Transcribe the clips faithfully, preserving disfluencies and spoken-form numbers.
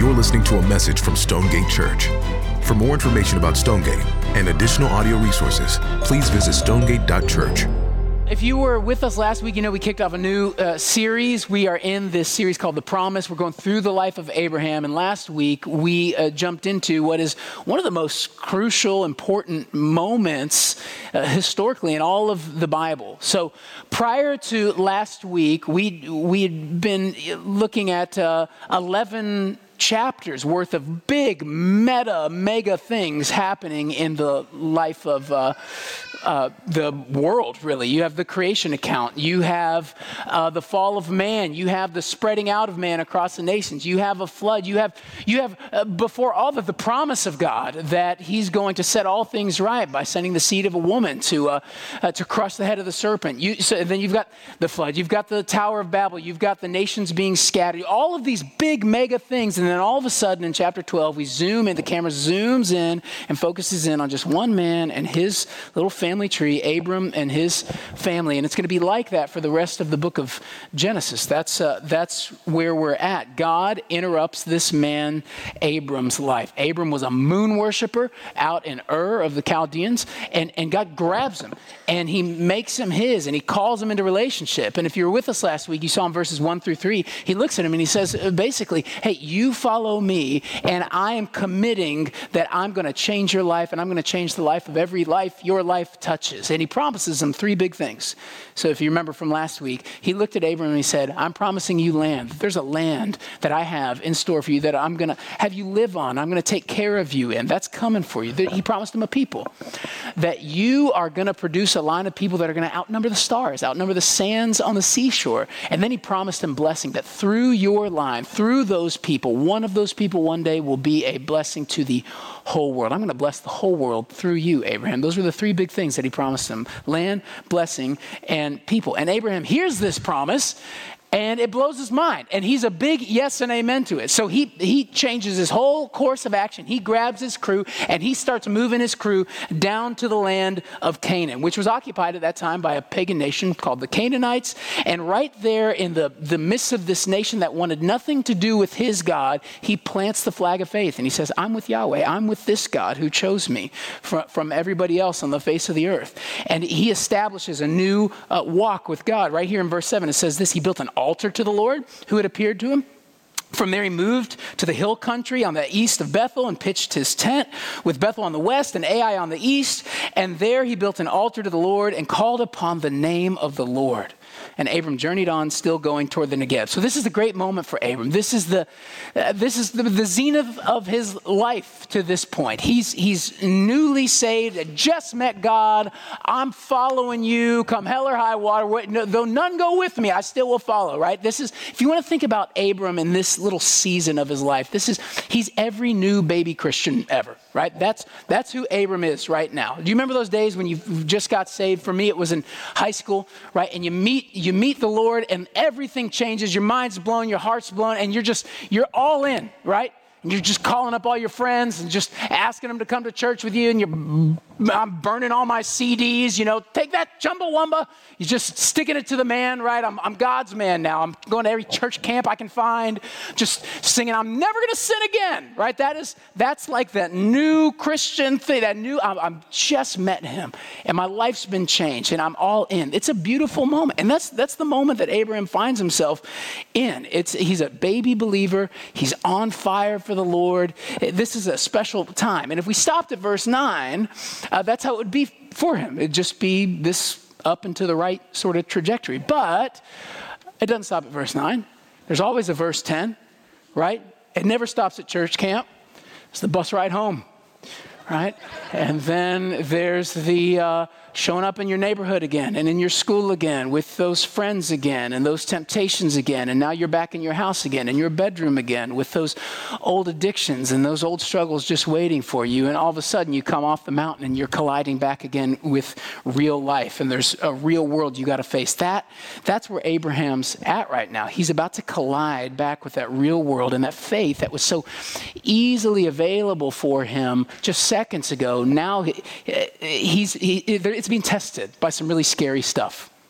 You're listening to a message from Stonegate Church. For more information about Stonegate and additional audio resources, please visit stonegate dot church. If you were with us last week, you know we kicked off a new uh, series. We are in this series called The Promise. We're going through the life of Abraham. And last week, we uh, jumped into what is one of the most crucial, important moments uh, historically in all of the Bible. So prior to last week, we we had been looking at uh, eleven chapters worth of big, meta, mega things happening in the life of uh, uh, the world, really. You have the creation account. You have uh, the fall of man. You have the spreading out of man across the nations. You have a flood. You have, you have uh, before all that, the promise of God that he's going to set all things right by sending the seed of a woman to uh, uh, to crush the head of the serpent. You, so then you've got the flood. You've got the Tower of Babel. You've got the nations being scattered. All of these big, mega things. And then all of a sudden in chapter twelve, we zoom in, the camera zooms in and focuses in on just one man and his little family tree, Abram and his family. And it's going to be like that for the rest of the book of Genesis. That's uh, that's where we're at. God interrupts this man, Abram's life. Abram was a moon worshiper out in Ur of the Chaldeans, and, and God grabs him and he makes him his and he calls him into relationship. And if you were with us last week, you saw in verses one through three, he looks at him and he says, basically, hey, you follow me, and I am committing that I'm going to change your life, and I'm going to change the life of every life your life touches. And he promises them three big things. So if you remember from last week, he looked at Abram and he said, I'm promising you land. There's a land that I have in store for you that I'm going to have you live on. I'm going to take care of you, and that's coming for you. He promised him a people, that you are going to produce a line of people that are going to outnumber the stars, outnumber the sands on the seashore. And then he promised him blessing, that through your line, through those people, one of those people one day will be a blessing to the whole world. I'm going to bless the whole world through you, Abraham. Those were the three big things that he promised him: land, blessing, and people. And Abraham hears this promise, and it blows his mind. And he's a big yes and amen to it. So he he changes his whole course of action. He grabs his crew and he starts moving his crew down to the land of Canaan, which was occupied at that time by a pagan nation called the Canaanites. And right there in the, the midst of this nation that wanted nothing to do with his God, he plants the flag of faith. And he says, I'm with Yahweh. I'm with this God who chose me from, from everybody else on the face of the earth. And he establishes a new uh, walk with God. Right here in verse seven, it says this: he built an altar to the Lord who had appeared to him. From there he moved to the hill country on the east of Bethel and pitched his tent, with Bethel on the west and Ai on the east. And there he built an altar to the Lord and called upon the name of the Lord. And Abram journeyed on, still going toward the Negev. So this is a great moment for Abram. This is the uh, this is the, the zenith of his life to this point. He's he's newly saved, had just met God. I'm following you, come hell or high water. Though none go with me, I still will follow. Right? This is, if you want to think about Abram in this little season of his life, this is he's every new baby Christian ever. Right? That's that's who Abram is right now. Do you remember those days when you just got saved? For me, it was in high school, right? And you meet you meet the Lord, and everything changes. Your mind's blown, your heart's blown, and you're just you're all in, right? And you're just calling up all your friends and just asking them to come to church with you. And you're, I'm burning all my C Ds, you know, take that Chumbawamba. You're just sticking it to the man, right? I'm, I'm God's man now. I'm going to every church camp I can find, just singing, I'm never going to sin again, right? That is, that's like that new Christian thing, that new, I'm, I've just met him and my life's been changed and I'm all in. It's a beautiful moment. And that's, that's the moment that Abraham finds himself in. It's, he's a baby believer. He's on fire for the Lord. This is a special time. And if we stopped at verse nine, uh, that's how it would be for him. It'd just be this up and to the right sort of trajectory. But it doesn't stop at verse nine. There's always a verse ten, right? It never stops at church camp. It's the bus ride home, right? And then there's the uh, showing up in your neighborhood again and in your school again with those friends again and those temptations again. And now you're back in your house again, in your bedroom again with those old addictions and those old struggles just waiting for you. And all of a sudden you come off the mountain and you're colliding back again with real life. And there's a real world you got to face. That, that's where Abraham's at right now. He's about to collide back with that real world and that faith that was so easily available for him just seconds ago. Now he, he's, he, it's being tested by some really scary stuff.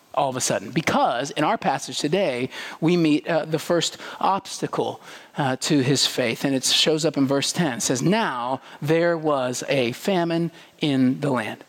all of a sudden, because in our passage today, we meet uh, the first obstacle uh, to his faith, and it shows up in verse ten. It says, now there was a famine in the land.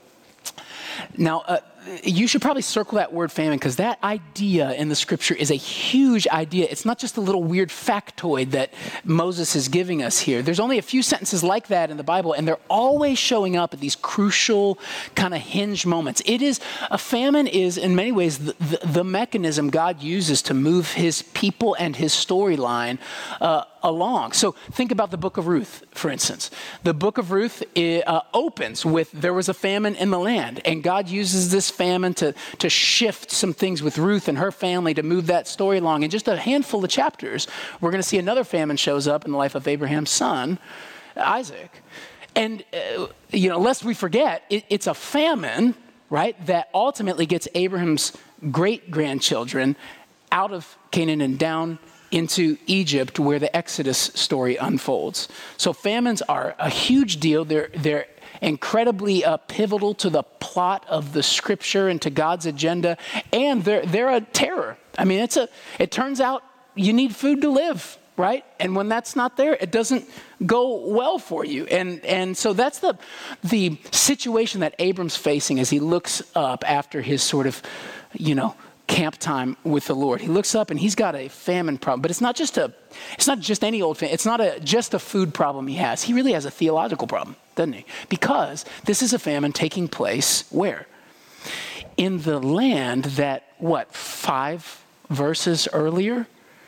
Now, uh, you should probably circle that word famine, because that idea in the scripture is a huge idea. It's not just a little weird factoid that Moses is giving us here. There's only a few sentences like that in the Bible, and they're always showing up at these crucial kind of hinge moments. It is, a famine is in many ways the, the, the mechanism God uses to move his people and his storyline uh, along. So think about the book of Ruth, for instance. The book of Ruth uh, opens with, there was a famine in the land, and God uses this famine to, to shift some things with Ruth and her family to move that story along. In just a handful of chapters, we're going to see another famine shows up in the life of Abraham's son, Isaac. And, uh, you know, lest we forget, it, it's a famine, right, that ultimately gets Abraham's great-grandchildren out of Canaan and down into Egypt, where the Exodus story unfolds. So famines are a huge deal. They're, they're incredibly uh, pivotal to the plot of the scripture and to God's agenda, and they're, they're a terror. I mean, it's a. It turns out you need food to live, right? And when that's not there, it doesn't go well for you. And and so that's the the situation that Abram's facing as he looks up after his sort of, you know, camp time with the Lord. He looks up and he's got a famine problem, but it's not just a, it's not just any old famine. It's not a just a food problem he has. He really has a theological problem, doesn't he? Because this is a famine taking place where? In the land that, what, five verses earlier,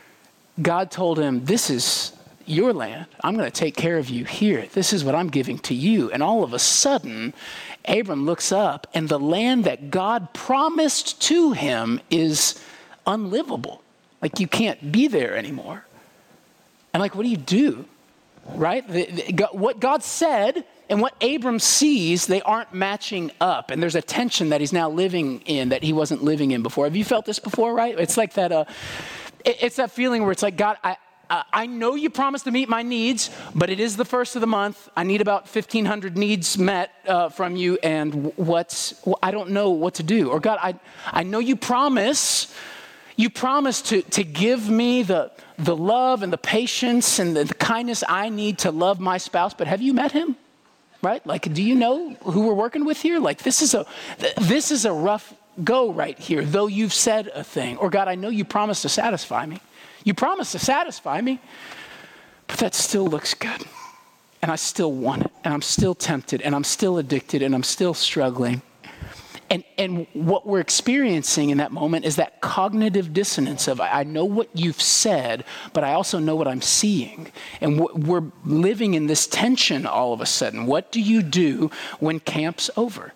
God told him, this is your land. I'm going to take care of you here. This is what I'm giving to you. And all of a sudden, Abram looks up, and the land that God promised to him is unlivable. Like, you can't be there anymore. And like, what do you do? Right? The, the, what God said and what Abram sees, they aren't matching up. And there's a tension that he's now living in that he wasn't living in before. Have you felt this before, right? It's like that, uh, it, it's that feeling where it's like, God, I, Uh, I know you promised to meet my needs, but it is the first of the month. I need about fifteen hundred needs met uh, from you, and what's, well, I don't know what to do. Or God, I, I know you promise, you promise to, to give me the, the love and the patience and the, the kindness I need to love my spouse, but have you met him? Right? Like, do you know who we're working with here? Like, this is a, this is a rough go right here, though you've said a thing. Or God, I know you promised to satisfy me. You promised to satisfy me, but that still looks good. And I still want it, and I'm still tempted, and I'm still addicted, and I'm still struggling. And and what we're experiencing in that moment is that cognitive dissonance of, I know what you've said, but I also know what I'm seeing. And we're living in this tension all of a sudden. What do you do when camp's over?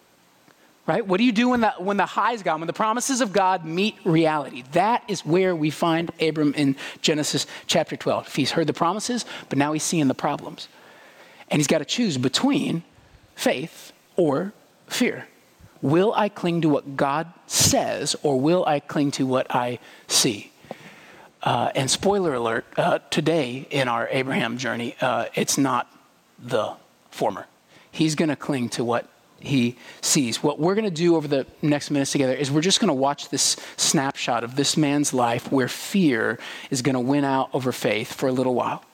Right? What do you do when the, when the high's gone, when the promises of God meet reality? That is where we find Abram in Genesis chapter twelve. He's heard the promises, but now he's seeing the problems. And he's got to choose between faith or fear. Will I cling to what God says, or will I cling to what I see? Uh, and spoiler alert, uh, today in our Abraham journey, uh, it's not the former. He's going to cling to what he sees. What we're going to do over the next minutes together is we're just going to watch this snapshot of this man's life where fear is going to win out over faith for a little while.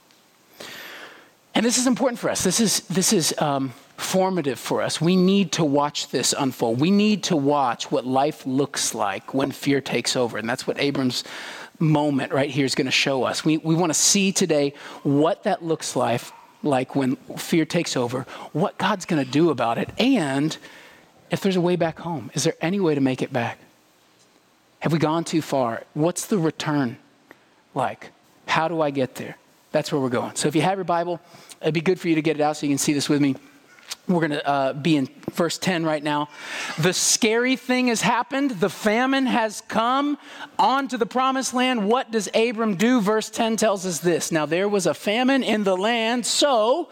And this is important for us. This is this is um, formative for us. We need to watch this unfold. We need to watch what life looks like when fear takes over. And that's what Abram's moment right here is going to show us. We we want to see today what that looks like like when fear takes over, what God's going to do about it, and if there's a way back home. Is there any way to make it back? Have we gone too far? What's the return like? How do I get there? That's where we're going. So if you have your Bible, it'd be good for you to get it out so you can see this with me. We're going to uh, be in verse ten right now. The scary thing has happened. The famine has come onto the promised land. What does Abram do? Verse ten tells us this. Now there was a famine in the land, so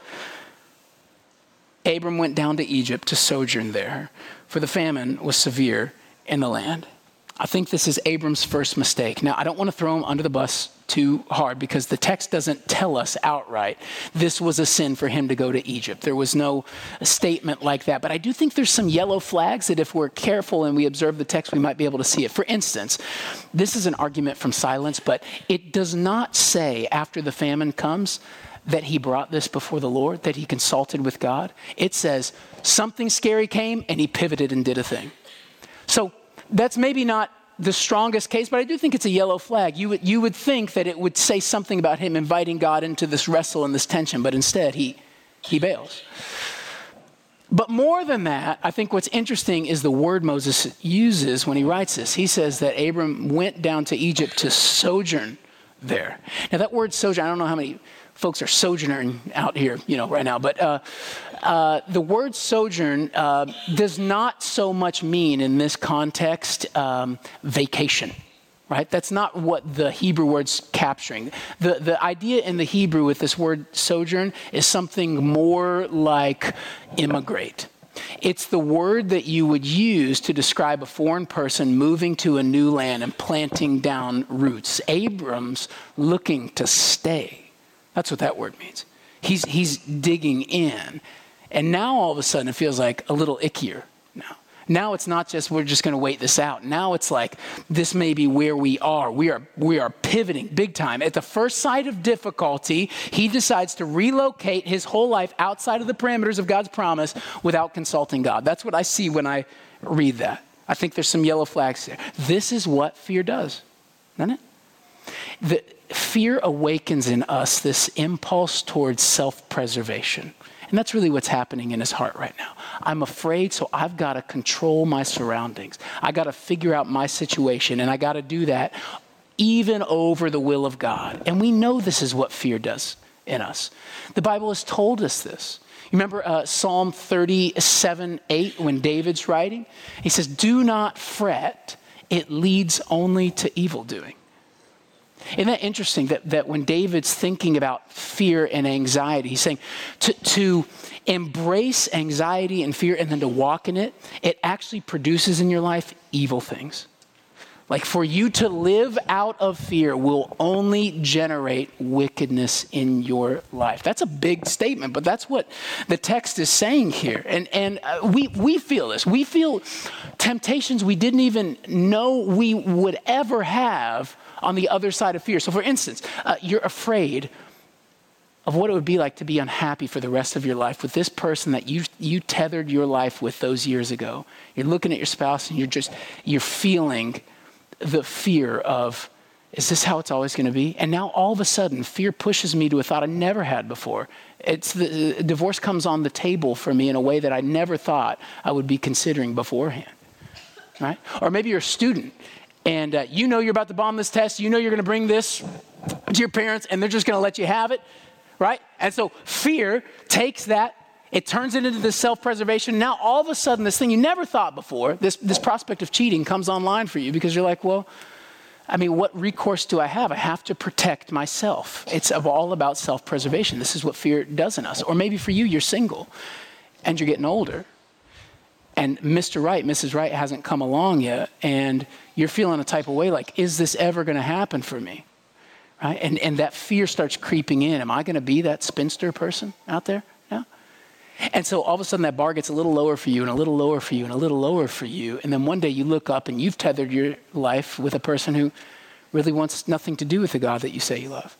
Abram went down to Egypt to sojourn there, for the famine was severe in the land. I think this is Abram's first mistake. Now, I don't want to throw him under the bus too hard because the text doesn't tell us outright this was a sin for him to go to Egypt. There was no statement like that. But I do think there's some yellow flags that if we're careful and we observe the text, we might be able to see it. For instance, this is an argument from silence, but it does not say after the famine comes that he brought this before the Lord, that he consulted with God. It says something scary came and he pivoted and did a thing. So that's maybe not the strongest case, but I do think it's a yellow flag. You would, you would think that it would say something about him inviting God into this wrestle and this tension, but instead he, he bails. But more than that, I think what's interesting is the word Moses uses when he writes this. He says that Abram went down to Egypt to sojourn there. Now that word sojourn, I don't know how many folks are sojourning out here, you know, right now, but uh, uh, the word sojourn uh, does not so much mean in this context um, vacation, right? That's not what the Hebrew word's capturing. The, the idea in the Hebrew with this word sojourn is something more like immigrate. It's the word that you would use to describe a foreign person moving to a new land and planting down roots. Abram's looking to stay. That's what that word means. He's he's digging in. And now all of a sudden it feels like a little ickier now. Now it's not just we're just going to wait this out. Now it's like this may be where we are. We are we are pivoting big time. At the first sight of difficulty, he decides to relocate his whole life outside of the parameters of God's promise without consulting God. That's what I see when I read that. I think there's some yellow flags there. This is what fear does, doesn't it? The fear awakens in us this impulse towards self-preservation. And that's really what's happening in his heart right now. I'm afraid, so I've got to control my surroundings. I got to figure out my situation, and I got to do that even over the will of God. And we know this is what fear does in us. The Bible has told us this. You remember uh, Psalm thirty-seven eight when David's writing? He says, "Do not fret, it leads only to evil doing." Isn't that interesting that, that when David's thinking about fear and anxiety, he's saying to, to embrace anxiety and fear and then to walk in it, it actually produces in your life evil things. Like for you to live out of fear will only generate wickedness in your life. That's a big statement, but that's what the text is saying here. And and uh, we we feel this. We feel temptations we didn't even know we would ever have on the other side of fear. So for instance, uh, you're afraid of what it would be like to be unhappy for the rest of your life with this person that you you tethered your life with those years ago. You're looking at your spouse and you're just, you're feeling the fear of, is this how it's always going to be? And now all of a sudden, fear pushes me to a thought I never had before. It's the divorce comes on the table for me in a way that I never thought I would be considering beforehand, right? Or maybe you're a student and uh, you know you're about to bomb this test. You know you're going to bring this to your parents and they're just going to let you have it, right? And so fear takes that. It turns it into this self-preservation. Now, all of a sudden, this thing you never thought before, this, this prospect of cheating comes online for you because you're like, well, I mean, what recourse do I have? I have to protect myself. It's all about self-preservation. This is what fear does in us. Or maybe for you, you're single and you're getting older and Mister Right, Missus Right hasn't come along yet and you're feeling a type of way like, is this ever going to happen for me? Right? And, and that fear starts creeping in. Am I going to be that spinster person out there? No. And so all of a sudden that bar gets a little lower for you and a little lower for you and a little lower for you. And then one day you look up and you've tethered your life with a person who really wants nothing to do with the God that you say you love.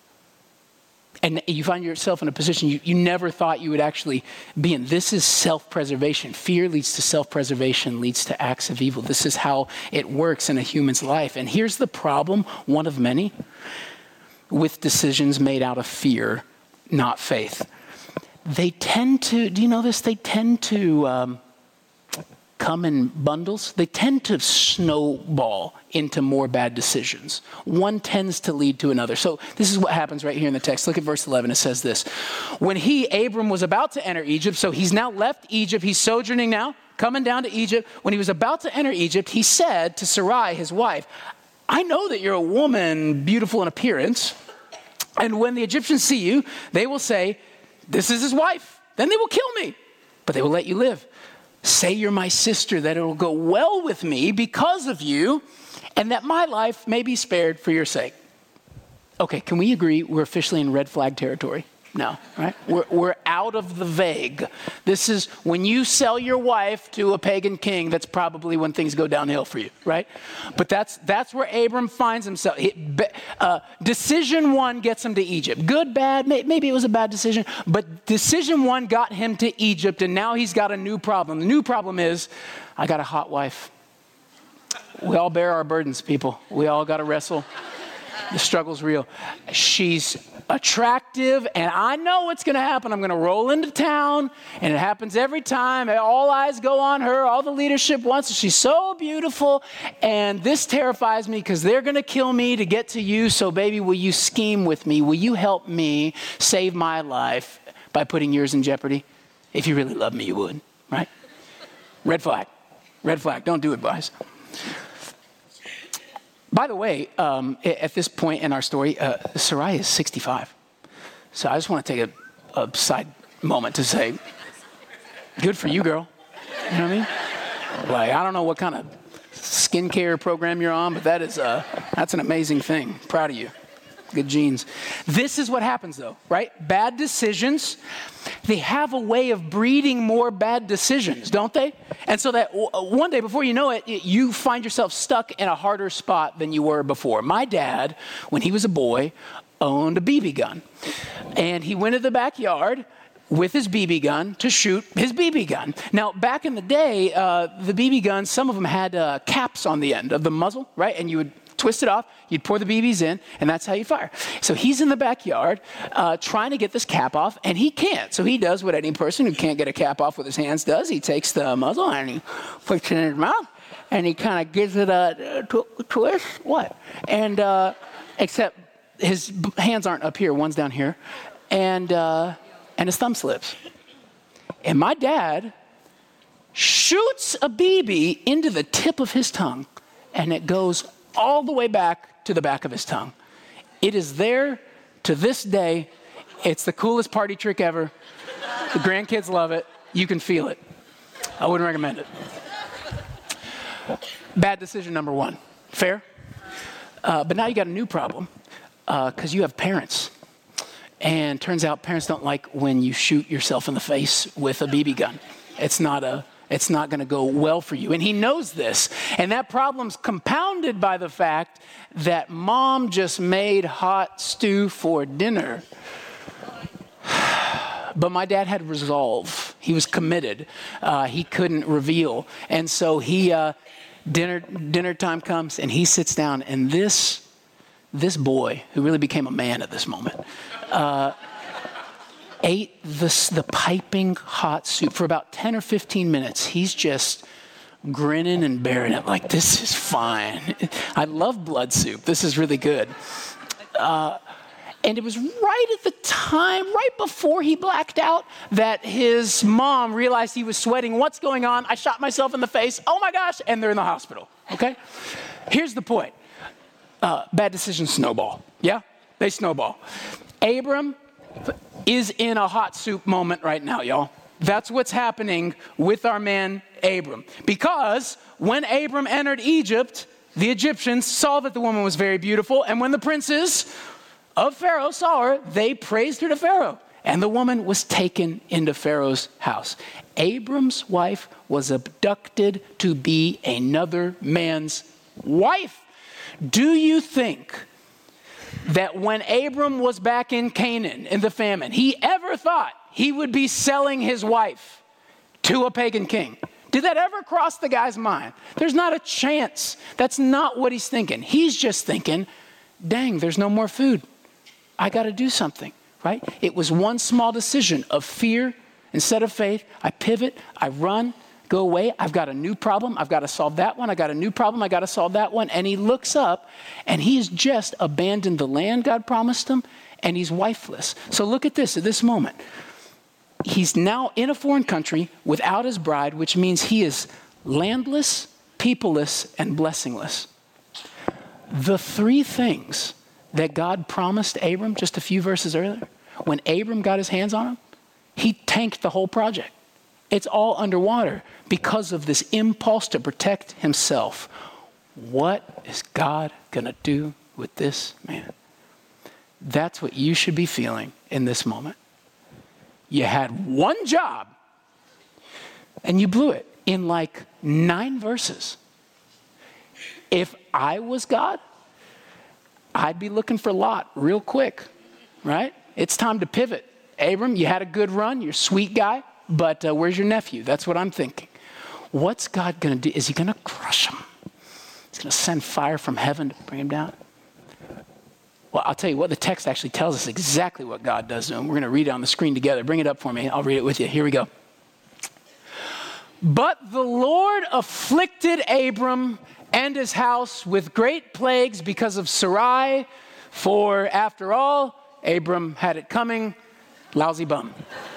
And you find yourself in a position you, you never thought you would actually be in. This is self-preservation. Fear leads to self-preservation, leads to acts of evil. This is how it works in a human's life. And here's the problem, one of many, with decisions made out of fear, not faith. They tend to, do you know this? They tend to um, come in bundles. They tend to snowball into more bad decisions. One tends to lead to another. So this is what happens right here in the text. Look at verse eleven. It says this. When he, Abram, was about to enter Egypt, so he's now left Egypt. He's sojourning now, coming down to Egypt. When he was about to enter Egypt, he said to Sarai, his wife, I know that you're a woman beautiful in appearance. And when the Egyptians see you, they will say, this is his wife. Then they will kill me, but they will let you live. Say you're my sister, that it will go well with me because of you, and that my life may be spared for your sake. Okay, can we agree we're officially in red flag territory? No, right? We're, we're out of the vague. This is when you sell your wife to a pagan king, that's probably when things go downhill for you, right? But that's that's where Abram finds himself. He, uh, decision one gets him to Egypt. Good, bad, may, maybe it was a bad decision, but decision one got him to Egypt, and now he's got a new problem. The new problem is, I got a hot wife. We all bear our burdens, people. We all got to wrestle. The struggle's real. She's attractive, and I know what's going to happen. I'm going to roll into town, and it happens every time. All eyes go on her. All the leadership wants her. She's so beautiful, and this terrifies me because they're going to kill me to get to you. So, baby, will you scheme with me? Will you help me save my life by putting yours in jeopardy? If you really love me, you would, right? Red flag. Red flag. Don't do it, boys. By the way, um, at this point in our story, uh, Sarai is sixty-five. So I just want to take a, a side moment to say, good for you, girl. You know what I mean? Like, I don't know what kind of skincare program you're on, but that is uh, that's an amazing thing. Proud of you. Good genes. This is what happens, though, right? Bad decisions, they have a way of breeding more bad decisions, don't they? And so that w- one day, before you know it, you find yourself stuck in a harder spot than you were before. My dad, when he was a boy, owned a B B gun. And he went to the backyard with his B B gun to shoot his B B gun. Now, back in the day, uh, the B B guns, some of them had uh, caps on the end of the muzzle, right? And you would twist it off, you'd pour the B Bs in, and that's how you fire. So he's in the backyard uh, trying to get this cap off, and he can't. So he does what any person who can't get a cap off with his hands does. He takes the muzzle and he puts it in his mouth, and he kind of gives it a tw- twist. What? And uh, except his hands aren't up here, one's down here, and uh, and his thumb slips. And my dad shoots a B B into the tip of his tongue, and it goes all the way back to the back of his tongue. It is there to this day. It's the coolest party trick ever. The grandkids love it. You can feel it. I wouldn't recommend it. Bad decision number one. Fair? Uh, but now you got a new problem because uh, you have parents. And turns out parents don't like when you shoot yourself in the face with a B B gun. It's not a It's not going to go well for you. And he knows this. And that problem's compounded by the fact that mom just made hot stew for dinner. But my dad had resolve. He was committed. Uh, he couldn't reveal. And so he, uh, dinner dinner time comes and he sits down. And this, this boy, who really became a man at this moment, uh, ate the, the piping hot soup for about ten or fifteen minutes. He's just grinning and bearing it like, this is fine. I love blood soup. This is really good. Uh, and it was right at the time, right before he blacked out, that his mom realized he was sweating. What's going on? I shot myself in the face. Oh my gosh. And they're in the hospital. Okay? Here's the point. Uh, bad decisions snowball. Yeah? They snowball. Abram is in a hot soup moment right now, y'all. That's what's happening with our man Abram. Because when Abram entered Egypt, the Egyptians saw that the woman was very beautiful, and when the princes of Pharaoh saw her, they praised her to Pharaoh, and the woman was taken into Pharaoh's house. Abram's wife was abducted to be another man's wife. Do you think that when Abram was back in Canaan in the famine, he ever thought he would be selling his wife to a pagan king? Did that ever cross the guy's mind? There's not a chance. That's not what he's thinking. He's just thinking, dang, there's no more food. I got to do something, right? It was one small decision of fear instead of faith. I pivot, I run, go away. I've got a new problem. I've got to solve that one. I got a new problem. I got to solve that one. And he looks up and he's just abandoned the land God promised him, and he's wifeless. So look at this at this moment. He's now in a foreign country without his bride, which means he is landless, peopleless, and blessingless. The three things that God promised Abram just a few verses earlier, when Abram got his hands on them, he tanked the whole project. It's all underwater because of this impulse to protect himself. what is God gonna do with this man? That's what you should be feeling in this moment. You had one job and you blew it in like nine verses. If I was God, I'd be looking for Lot real quick, right? It's time to pivot. Abram, you had a good run. You're a sweet guy, but uh, where's your nephew? That's what I'm thinking. What's God going to do? Is he going to crush him? He's going to send fire from heaven to bring him down? Well, I'll tell you what, the text actually tells us exactly what God does to him. We're going to read it on the screen together. Bring it up for me. I'll read it with you. Here we go. But the Lord afflicted Abram and his house with great plagues because of Sarai, for after all, Abram had it coming. Lousy bum.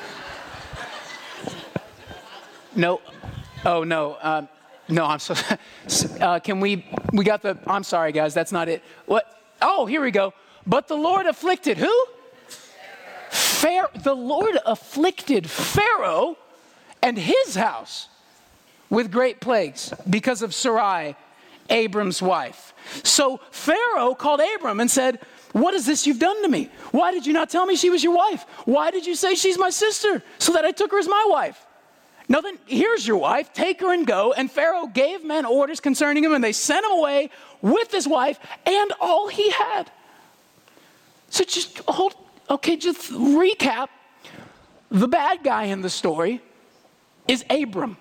No. Oh, no. Uh, no, I'm so... Uh, can we... We got the... I'm sorry, guys. That's not it. What? Oh, here we go. But the Lord afflicted who? Pharaoh. The Lord afflicted Pharaoh and his house with great plagues because of Sarai, Abram's wife. So Pharaoh called Abram and said, what is this you've done to me? Why did you not tell me she was your wife? Why did you say she's my sister so that I took her as my wife? Now then, here's your wife. Take her and go. And Pharaoh gave men orders concerning him, and they sent him away with his wife and all he had. So just hold, okay, just recap. The bad guy in the story is Abram.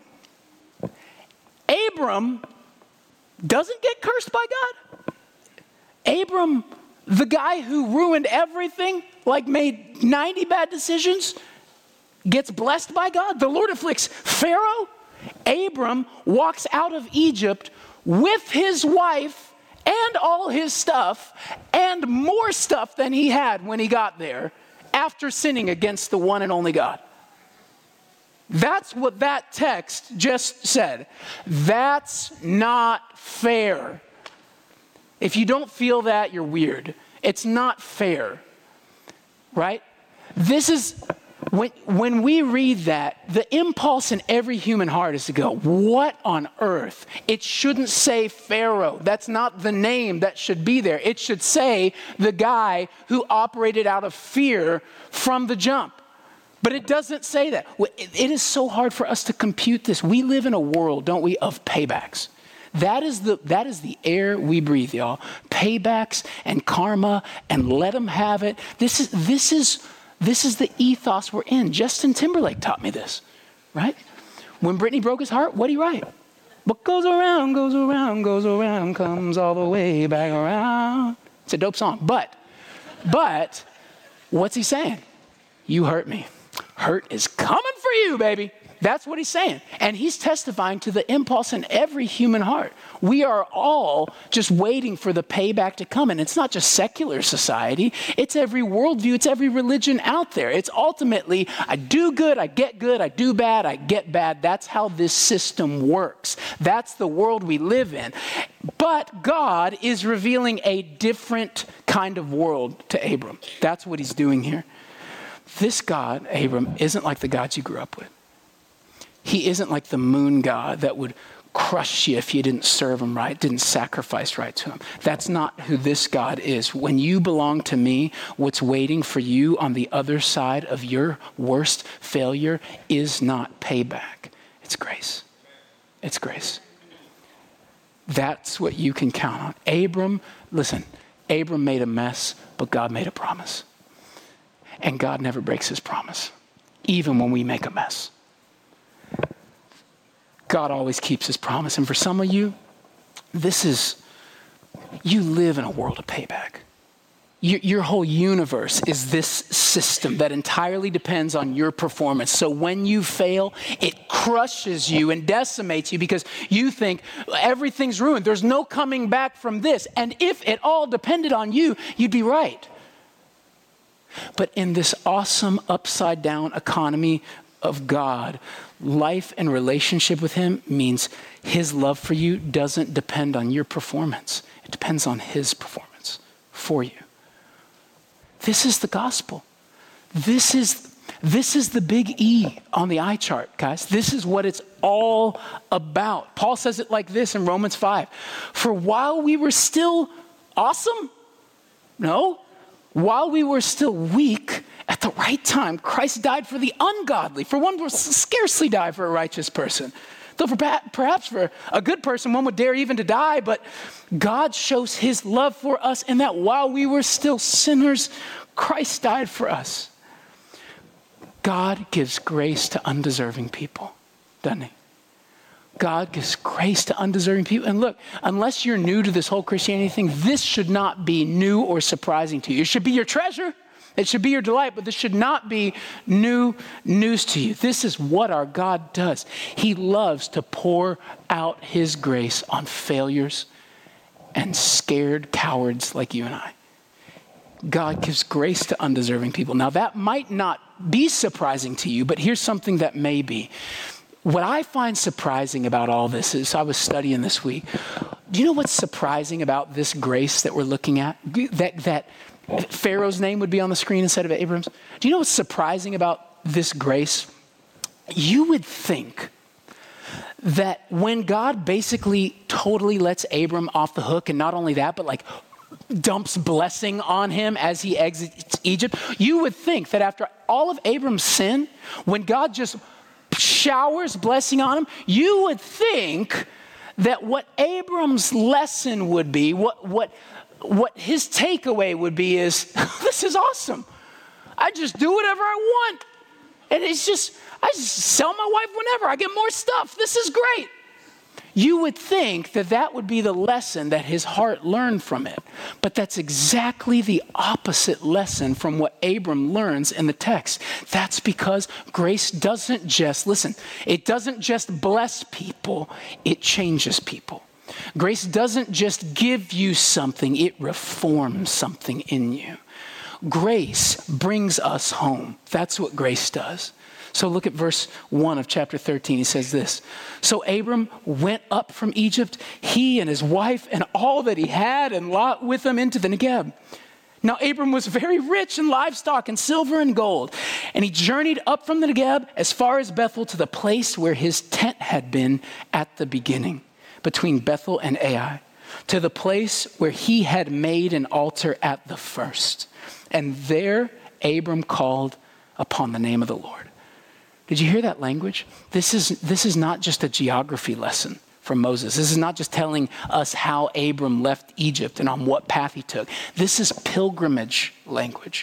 Abram doesn't get cursed by God. Abram, the guy who ruined everything, like made ninety bad decisions, gets blessed by God. The Lord afflicts Pharaoh. Abram walks out of Egypt with his wife and all his stuff and more stuff than he had when he got there after sinning against the one and only God. That's what that text just said. That's not fair. If you don't feel that, you're weird. It's not fair, right? This is, when, when we read that, the impulse in every human heart is to go, what on earth? It shouldn't say Pharaoh. That's not the name that should be there. It should say the guy who operated out of fear from the jump. But it doesn't say that. It is so hard for us to compute this. We live in a world, don't we, of paybacks. That is the that is the air we breathe, y'all. Paybacks and karma, and let them have it. This is this is this is the ethos we're in. Justin Timberlake taught me this, right? When Britney broke his heart, what did he write? What goes around, goes around, goes around, comes all the way back around. It's a dope song. But, but, what's he saying? You hurt me. Hurt is coming for you, baby. That's what he's saying. And he's testifying to the impulse in every human heart. We are all just waiting for the payback to come. And it's not just secular society. It's every worldview. It's every religion out there. It's ultimately, I do good, I get good, I do bad, I get bad. That's how this system works. That's the world we live in. But God is revealing a different kind of world to Abram. That's what he's doing here. This God, Abram, isn't like the gods you grew up with. He isn't like the moon god that would crush you if you didn't serve him right, didn't sacrifice right to him. That's not who this God is. When you belong to me, what's waiting for you on the other side of your worst failure is not payback. It's grace. It's grace. That's what you can count on. Abram, listen, Abram made a mess, but God made a promise. And God never breaks his promise, even when we make a mess. God always keeps his promise. And for some of you, this is, you live in a world of payback. Your, your whole universe is this system that entirely depends on your performance. So when you fail, it crushes you and decimates you because you think everything's ruined. There's no coming back from this. And if it all depended on you, you'd be right. But in this awesome upside down economy of God, life and relationship with him means his love for you doesn't depend on your performance. It depends on his performance for you. This is the gospel. This is, This is the big E on the eye chart, guys. This is what it's all about. Paul says it like this in Romans five. For while we were still awesome, no, while we were still weak, at the right time, Christ died for the ungodly. For one will scarcely die for a righteous person. Though for perhaps for a good person, one would dare even to die, but God shows his love for us in that while we were still sinners, Christ died for us. God gives grace to undeserving people, doesn't he? God gives grace to undeserving people. And look, unless you're new to this whole Christianity thing, this should not be new or surprising to you. It should be your treasure. It should be your delight, but this should not be new news to you. This is what our God does. He loves to pour out his grace on failures and scared cowards like you and I. God gives grace to undeserving people. Now, that might not be surprising to you, but here's something that may be. What I find surprising about all this is, I was studying this week. Do you know what's surprising about this grace that we're looking at? That, that Pharaoh's name would be on the screen instead of Abram's. Do you know what's surprising about this grace? You would think that when God basically totally lets Abram off the hook, and not only that, but like dumps blessing on him as he exits Egypt, you would think that after all of Abram's sin, when God just showers blessing on him, you would think that what Abram's lesson would be, what what what his takeaway would be is, this is awesome. I just do whatever I want. And it's just, I just sell my wife whenever. I get more stuff. This is great. You would think that that would be the lesson that his heart learned from it. But that's exactly the opposite lesson from what Abram learns in the text. That's because grace doesn't just, listen, it doesn't just bless people, it changes people. Grace doesn't just give you something, it reforms something in you. Grace brings us home. That's what grace does. So look at verse one of chapter thirteen. He says this. So Abram went up from Egypt, he and his wife and all that he had, and Lot with him into the Negeb. Now Abram was very rich in livestock and silver and gold. And he journeyed up from the Negeb as far as Bethel to the place where his tent had been at the beginning, between Bethel and Ai, to the place where he had made an altar at the first. And there Abram called upon the name of the Lord. Did you hear that language? This is, this is not just a geography lesson from Moses. This is not just telling us how Abram left Egypt and on what path he took. This is pilgrimage language.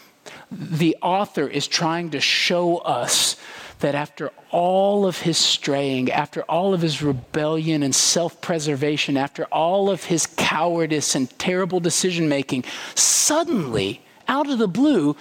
The author is trying to show us that after all of his straying, after all of his rebellion and self-preservation, after all of his cowardice and terrible decision-making, suddenly, out of the blue,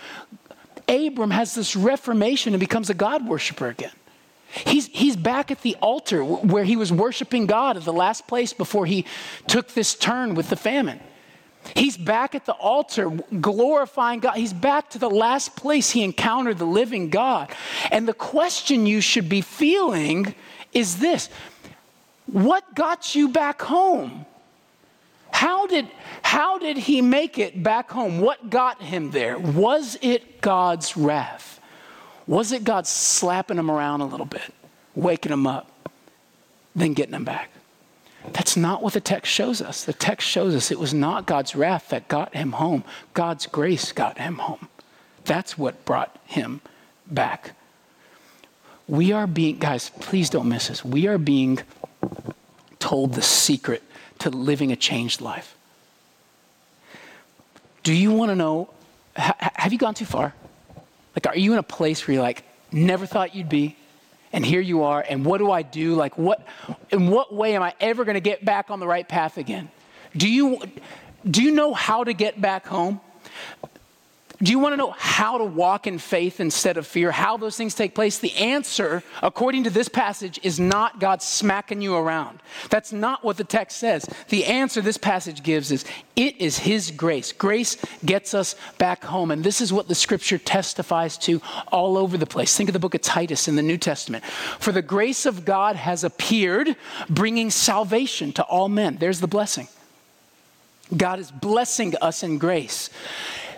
Abram has this reformation and becomes a God worshiper again. He's, he's back at the altar where he was worshiping God at the last place before he took this turn with the famine. He's back at the altar glorifying God. He's back to the last place he encountered the living God. And the question you should be feeling is this: what got you back home? How did, how did he make it back home? What got him there? Was it God's wrath? Was it God slapping him around a little bit, waking him up, then getting him back? That's not what the text shows us. The text shows us it was not God's wrath that got him home. God's grace got him home. That's what brought him back. We are being, guys, please don't miss this. We are being told the secret to living a changed life. Do you want to know, ha- have you gone too far? Like, are you in a place where you're like, never thought you'd be, and here you are, and what do I do? Like, what, in what way am I ever going to get back on the right path again? Do you, do you know how to get back home? Do you want to know how to walk in faith instead of fear? How those things take place? The answer, according to this passage, is not God smacking you around. That's not what the text says. The answer this passage gives is, it is his grace. Grace gets us back home. And this is what the scripture testifies to all over the place. Think of the book of Titus in the New Testament. For the grace of God has appeared, bringing salvation to all men. There's the blessing. God is blessing us in grace.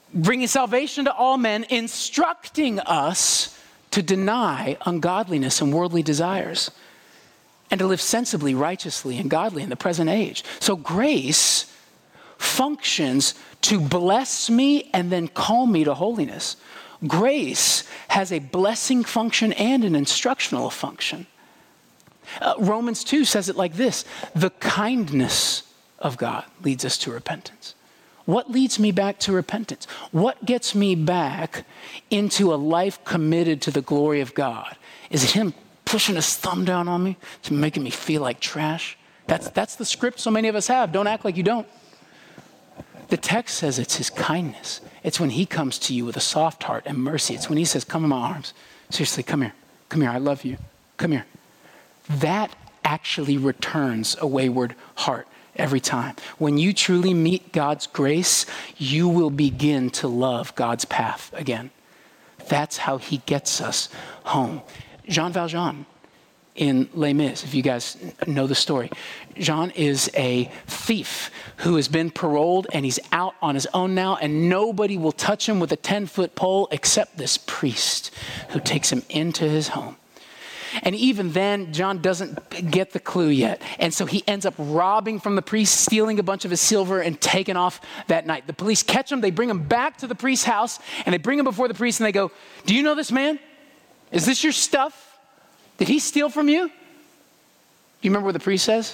bringing salvation to all men, instructing us to deny ungodliness and worldly desires and to live sensibly, righteously, and godly in the present age. So grace functions to bless me and then call me to holiness. Grace has a blessing function and an instructional function. Uh, Romans two says it like this: the kindness of God leads us to repentance. What leads me back to repentance? What gets me back into a life committed to the glory of God? Is it him pushing his thumb down on me to making me feel like trash? That's, that's the script so many of us have. Don't act like you don't. The text says it's his kindness. It's when he comes to you with a soft heart and mercy. It's when he says, come in my arms. Seriously, come here. Come here. I love you. Come here. That actually returns a wayward heart every time. When you truly meet God's grace, you will begin to love God's path again. That's how he gets us home. Jean Valjean in Les Mis, if you guys know the story. Jean is a thief who has been paroled and he's out on his own now, and nobody will touch him with a ten-foot pole except this priest who takes him into his home. And even then, John doesn't get the clue yet. And so he ends up robbing from the priest, stealing a bunch of his silver, and taking off that night. The police catch him. They bring him back to the priest's house, and they bring him before the priest, and they go, do you know this man? Is this your stuff? Did he steal from you? Do you remember what the priest says?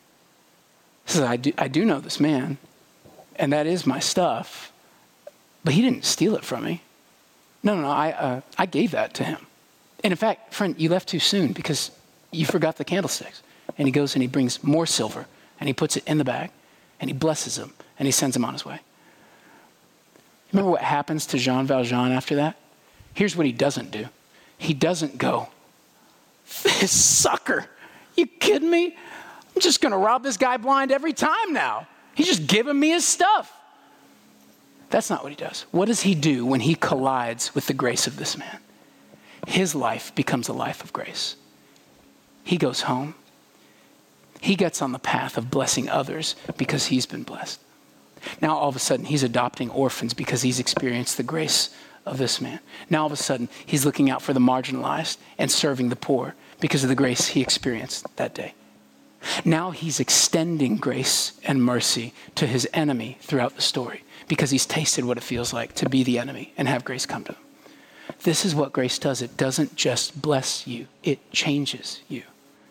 He says, I do, I do know this man, and that is my stuff, but he didn't steal it from me. No, no, no, I, uh, I gave that to him. And in fact, friend, you left too soon because you forgot the candlesticks. And he goes and he brings more silver and he puts it in the bag and he blesses him and he sends him on his way. Remember what happens to Jean Valjean after that? Here's what he doesn't do. He doesn't go, this sucker, you kidding me? I'm just going to rob this guy blind every time now. He's just giving me his stuff. That's not what he does. What does he do when he collides with the grace of this man? His life becomes a life of grace. He goes home. He gets on the path of blessing others because he's been blessed. Now, all of a sudden, he's adopting orphans because he's experienced the grace of this man. Now, all of a sudden, he's looking out for the marginalized and serving the poor because of the grace he experienced that day. Now he's extending grace and mercy to his enemy throughout the story because he's tasted what it feels like to be the enemy and have grace come to him. This is what grace does. It doesn't just bless you, it changes you.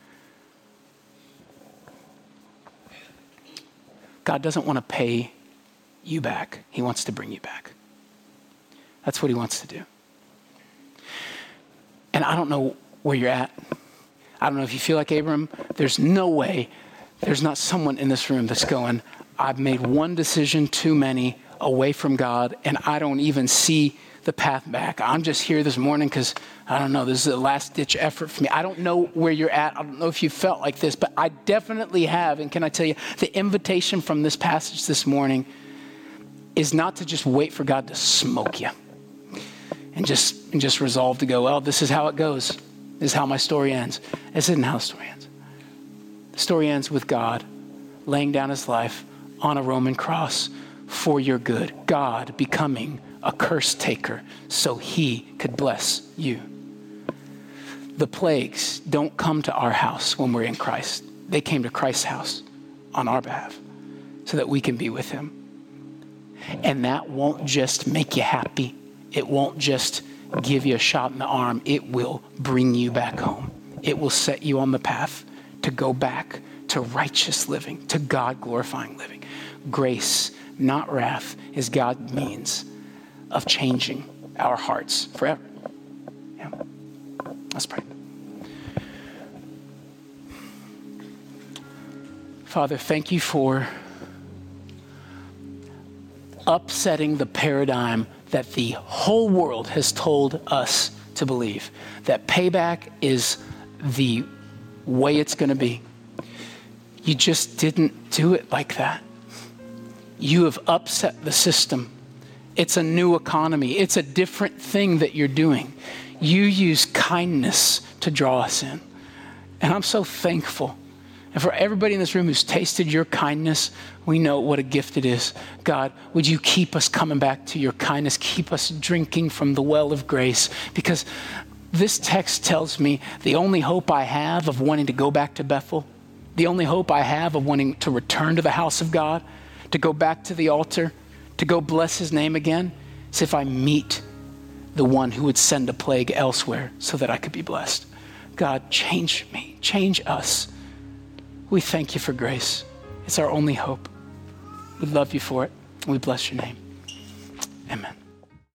God doesn't want to pay you back. He wants to bring you back. That's what he wants to do. And I don't know where you're at. I don't know if you feel like Abram. There's no way there's not someone in this room that's going, I've made one decision too many away from God, and I don't even see the path back. I'm just here this morning because, I don't know, this is a last-ditch effort for me. I don't know where you're at. I don't know if you felt like this, but I definitely have. And can I tell you, the invitation from this passage this morning is not to just wait for God to smoke you and just, and just resolve to go, well, this is how it goes. This is how my story ends. This isn't how the story ends. The story ends with God laying down his life on a Roman cross for your good. God becoming a curse taker so he could bless you. The plagues don't come to our house when we're in Christ. They came to Christ's house on our behalf so that we can be with him. And that won't just make you happy. It won't just give you a shot in the arm. It will bring you back home. It will set you on the path to go back to righteous living, to God glorifying living. Grace, not wrath, is God's means of changing our hearts forever. Yeah. Let's pray. Father, thank you for upsetting the paradigm that the whole world has told us to believe, that payback is the way it's going to be. You just didn't do it like that. You have upset the system. It's a new economy. It's a different thing that you're doing. You use kindness to draw us in. And I'm so thankful. And for everybody in this room who's tasted your kindness, we know what a gift it is. God, would you keep us coming back to your kindness? Keep us drinking from the well of grace. Because this text tells me the only hope I have of wanting to go back to Bethel, the only hope I have of wanting to return to the house of God, to go back to the altar, to go bless his name again, is if I meet the one who would send a plague elsewhere so that I could be blessed. God, change me, change us. We thank you for grace. It's our only hope. We love you for it. We bless your name. Amen.